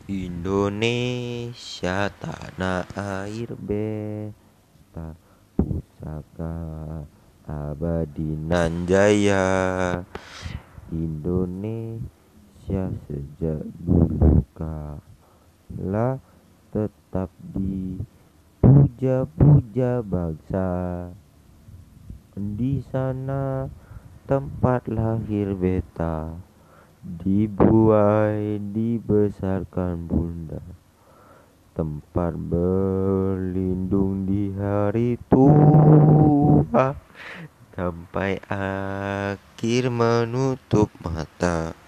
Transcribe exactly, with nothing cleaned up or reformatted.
Indonesia tanah air beta, pusaka abadi nan jaya. Indonesia sejak dulu kala tetap dipuja-puja bangsa. Di sana tempat lahir beta, dibuai dibesarkan bunda, tempat berlindung di hari tua, sampai akhir menutup mata.